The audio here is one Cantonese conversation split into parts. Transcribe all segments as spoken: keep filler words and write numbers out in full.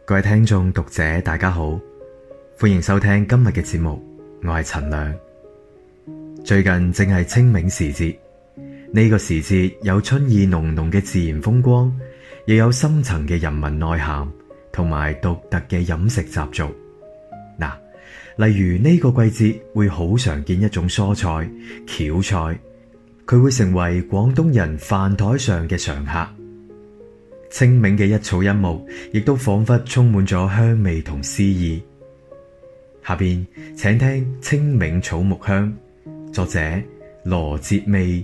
各位聽眾讀者大家好，歡迎收聽今日嘅節目，我係陳亮。最近正係清明時節，呢、這個時節有春意濃濃嘅自然風光，亦有深層嘅人文內涵同埋獨特嘅飲食習俗。嗱，例如呢個季節會好常見一種蔬菜蕎菜，佢會成為廣東人飯台上嘅常客。清明嘅一草一木，亦都仿佛充滿咗香味同詩意。下邊請聽《清明草木香》，作者羅哲美。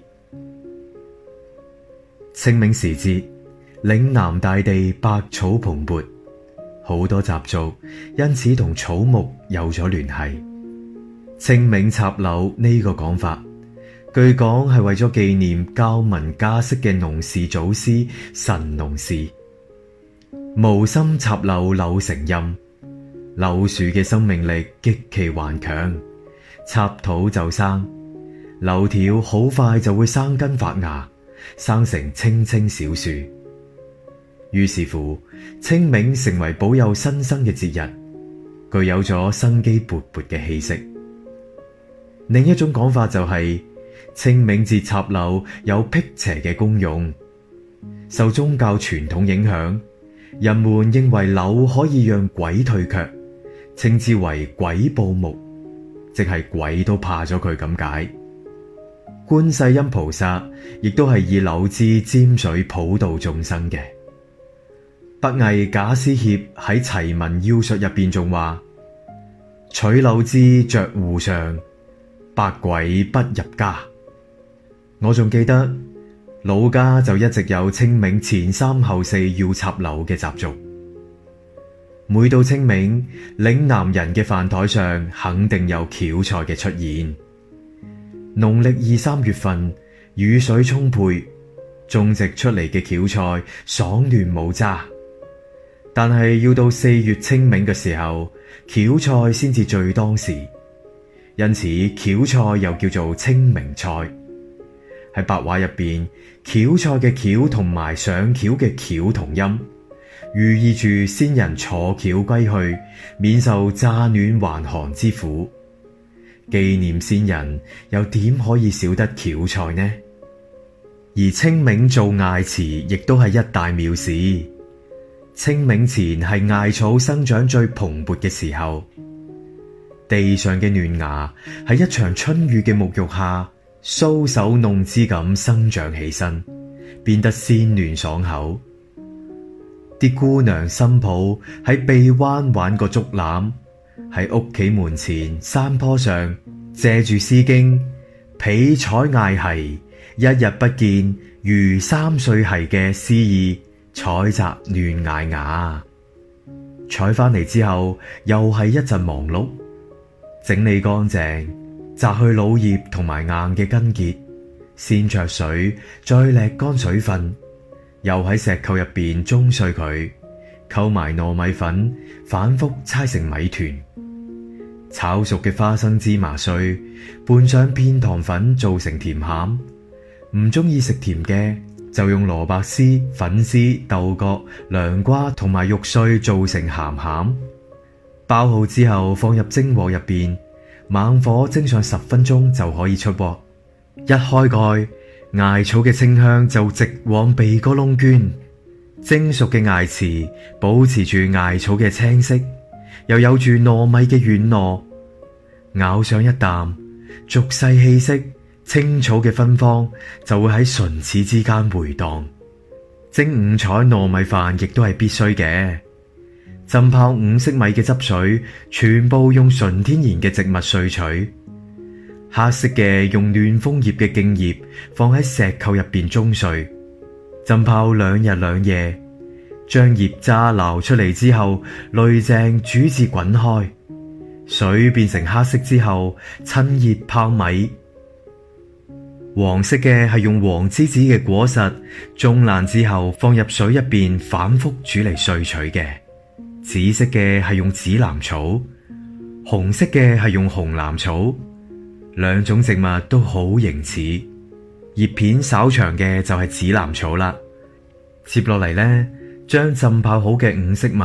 清明時節，嶺南大地百草蓬勃，好多習俗因此同草木有咗聯繫。清明插柳呢個講法，據講係為咗紀念教民稼穡嘅農事祖師神農氏。無心插柳柳成蔭，柳樹嘅生命力極其頑強，插土就生，柳條好快就會生根發芽，生成青青小樹。於是乎，清明成為保佑新生嘅節日，具有咗生機勃勃嘅氣息。另一種講法就係、是、清明節插柳有辟邪嘅功用。受宗教傳統影響，人們認為柳可以讓鬼退卻，稱之為鬼怖木，即係鬼都怕咗佢咁解。觀世音菩薩亦都係以柳枝沾水普度眾生嘅。北魏賈思勰喺《齊民要術》入邊仲話：取柳枝着戶上，百鬼不入家。我仲記得老家就一直有清明前三後四要插柳嘅習俗。每到清明，嶺南人嘅飯台上肯定有蕎菜嘅出現。農曆二三月份，雨水充沛，種植出嚟嘅蕎菜爽嫩冇渣。但係要到四月清明嘅時候，蕎菜先至最當時，因此蕎菜又叫做清明菜。喺白話入邊，蕎菜嘅蕎同埋上轎嘅轎同音，寓意住先人坐轎歸去，免受乍暖還寒之苦。紀念先人，又點可以少得蕎菜呢？而清明做艾詞，亦都係一大妙事。清明前係艾草生長最蓬勃嘅時候，地上嘅嫩芽喺一場春雨嘅沐浴下，搔首弄姿咁生長起身，變得鮮嫩爽口。啲姑娘新抱喺臂彎玩個竹籃，喺屋企門前山坡上借住詩經彼採艾蓆，一日不見如三歲蓆嘅詩意，採摘嫩艾芽。採翻嚟之後又係一陣忙碌，整理乾淨，摘去老葉同埋硬嘅根結，先焯水，再瀝乾水分，又喺石臼入邊舂碎佢，溝埋糯米粉，反覆搓成米團。炒熟嘅花生芝麻碎，拌上片糖粉做成甜餡。唔中意食甜嘅，就用蘿蔔絲、粉絲、豆角、涼瓜同埋肉碎做成鹹餡。包好之後放入蒸鍋入邊，猛火蒸上十分鐘就可以出鍋。一開蓋，艾草嘅清香就直往鼻哥窿鑽。蒸熟嘅艾糍保持住艾草嘅青色，又有住糯米嘅軟糯。咬上一啖，俗世氣息、青草嘅芬芳就會喺唇齒之間回蕩。蒸五彩糯米飯亦都係必須嘅。浸泡五色米嘅汁水，全部用純天然嘅植物萃取。黑色嘅用暖楓葉嘅莖葉放喺石臼入邊舂碎，浸泡兩日兩夜，將葉渣撈出嚟之後，濾淨煮至滾開，水變成黑色之後，趁熱泡米。黃色嘅係用黃梔子嘅果實舂爛之後放入水入邊反覆煮嚟萃取嘅。紫色嘅係用紫藍草，紅色嘅係用紅藍草。兩種植物都好形似，葉片稍長嘅就係紫藍草啦。接落嚟呢，將浸泡好嘅五色米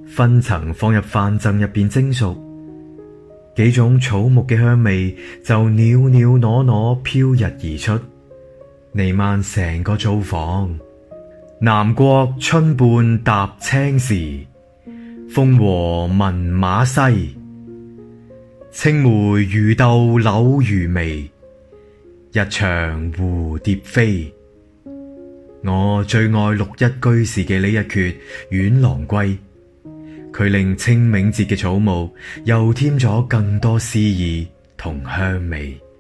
分層放入飯甑入邊蒸熟，幾種草木嘅香味就裊裊攞攞飄溢而出，彌漫成個灶房。南國春半踏青時，風和聞馬嘶。青梅魚豆柳餘味，一場蝴蝶飛。我最愛六一居士嘅呢一闕《遠郎歸》，佢令清明節嘅草木又添咗更多詩意同香味。